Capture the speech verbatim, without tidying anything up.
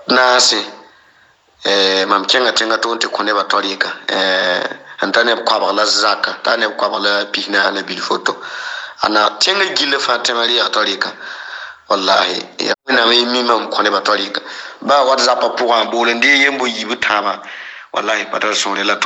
naase eh mam kenga tenga to te kone ba torika eh antane kwa ba la zaka tane kwa ba la pihna na bil photo ana tenga gile fatima ri torika wallahi ya na mi mi mam kone ba torika ba whatsapp pour un bol ndi yembo yibu tama wallahi patal son la